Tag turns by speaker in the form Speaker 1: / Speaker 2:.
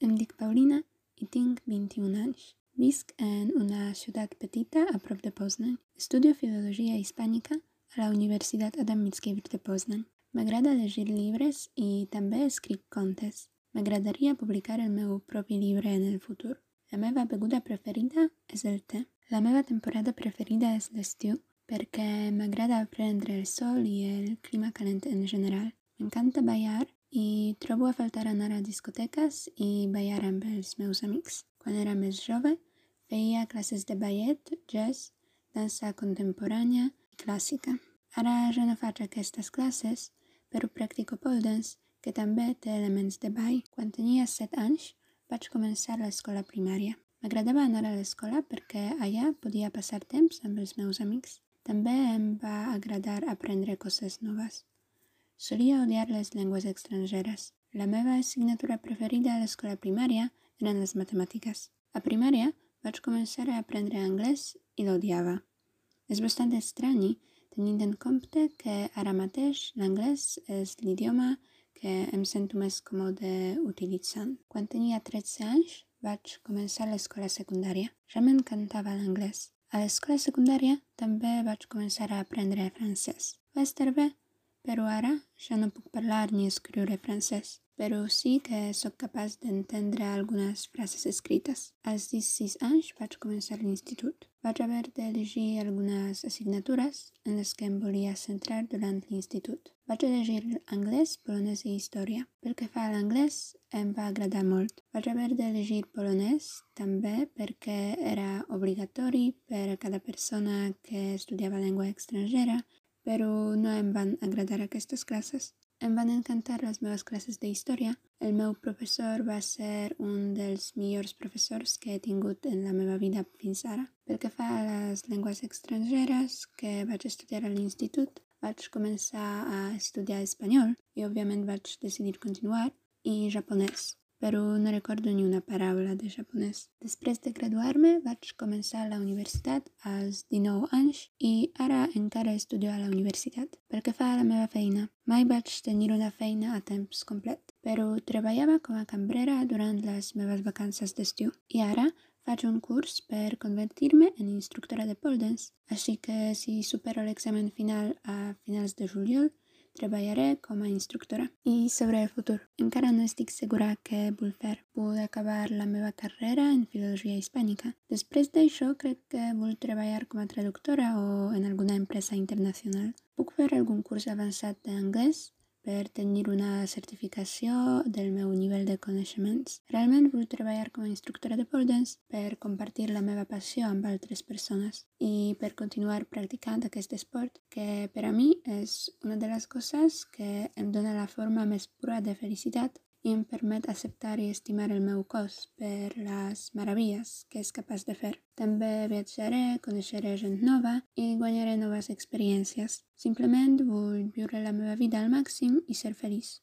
Speaker 1: Em dic Paulina i tinc 21 anys. Visc en una ciutat petita a prop de Poznań. Estudio Filologia Hispànica a la Universitat Adam Mickiewicz de Poznań. M'agrada llegir llibres i també escric contes. M'agradaria publicar el meu propi llibre en el futur. La meva beguda preferida és el te. La meva temporada preferida és l'estiu perquè m'agrada prendre el sol i el clima calent en general. M'encanta ballar i trobo a faltar anar a discoteques i ballar amb els meus amics. Quan era més jove, feia classes de ballet, jazz, dansa contemporània i clàssica. Ara ja no faig aquestes classes, però practico pole dance, que també té elements de ball. Quan tenia 7 anys, vaig començar l'escola primària. M'agradava anar a l'escola perquè allà podia passar temps amb els meus amics. També em va agradar aprendre coses noves. Solia odiar les llengües estrangeres. La meva assignatura preferida a l'escola primària eren les matemàtiques. A primària vaig començar a aprendre anglès i l'odiava. És bastant estrany, tenint en compte que ara mateix l'anglès és l'idioma que em sento més còmode utilitzant. Quan tenia 13 anys vaig començar l'escola secundària. Ja m'encantava l'anglès. A l'escola secundària també vaig començar a aprendre francès. Va estar bé, però ara ja no puc parlar ni escriure francès. Però sí que sóc capaç d'entendre algunes frases escrites. Als 16 anys vaig començar l'institut. Vaig haver d'elegir algunes assignatures en les que em volia centrar durant l'institut. Vaig elegir anglès, polonès i història. Pel que fa a l'anglès, em va agradar molt. Vaig haver d'elegir polonès també perquè era obligatori per a cada persona que estudiava llengua estrangera, però no em van agradar aquestes classes. Em van encantar les meves classes d'història. El meu professor va ser un dels millors professors que he tingut en la meva vida fins ara. Pel que fa a les llengües estrangeres que vaig estudiar a l'institut, vaig començar a estudiar espanyol i òbviament vaig decidir continuar, i japonès, però no recordo ni una paraula de japonès. Després de graduar-me vaig començar a la universitat als 19 anys i ara encara estudio a la universitat. Pel que fa a la meva feina, mai vaig tenir una feina a temps complet, però treballava com a cambrera durant les meves vacances d'estiu. I ara faig un curs per convertir-me en instructora de pole dance, així que si supero l'examen final a finals de juliol, treballaré com a instructora. I sobre el futur, encara no estic segura què vull fer. Vull acabar la meva carrera en filologia hispànica. Després d'això, crec que vull treballar com a traductora o en alguna empresa internacional. Puc fer algun curs avançat d'anglès per tenir una certificació del meu nivell de coneixements. Realment vull treballar com a instructora de pole dance per compartir la meva passió amb altres persones i per continuar practicant aquest esport que per a mi és una de les coses que em dona la forma més pura de felicitat i em permet acceptar i estimar el meu cos per les meravilles que és capaç de fer. També viatjaré, coneixeré gent nova i guanyaré noves experiències. Simplement vull viure la meva vida al màxim i ser feliç.